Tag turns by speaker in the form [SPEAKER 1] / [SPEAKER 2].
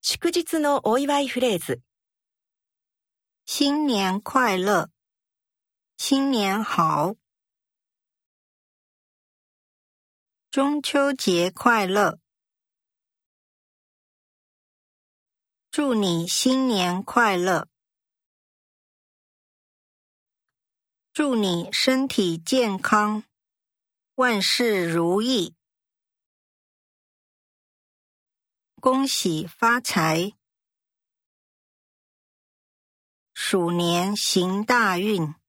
[SPEAKER 1] 祝日のお祝いフレーズ。
[SPEAKER 2] 新年快乐，新年好。中秋节快乐，祝你新年快乐。祝你身体健康，万事如意。恭喜发财，鼠年行大运。